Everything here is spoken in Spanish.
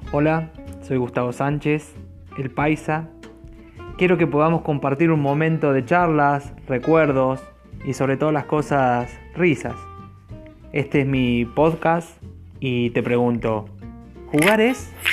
Hola, soy Gustavo Sánchez, el Paisa. Quiero que podamos compartir un momento de charlas, recuerdos y sobre todo las cosas risas. Este es mi podcast y te pregunto, ¿jugar es?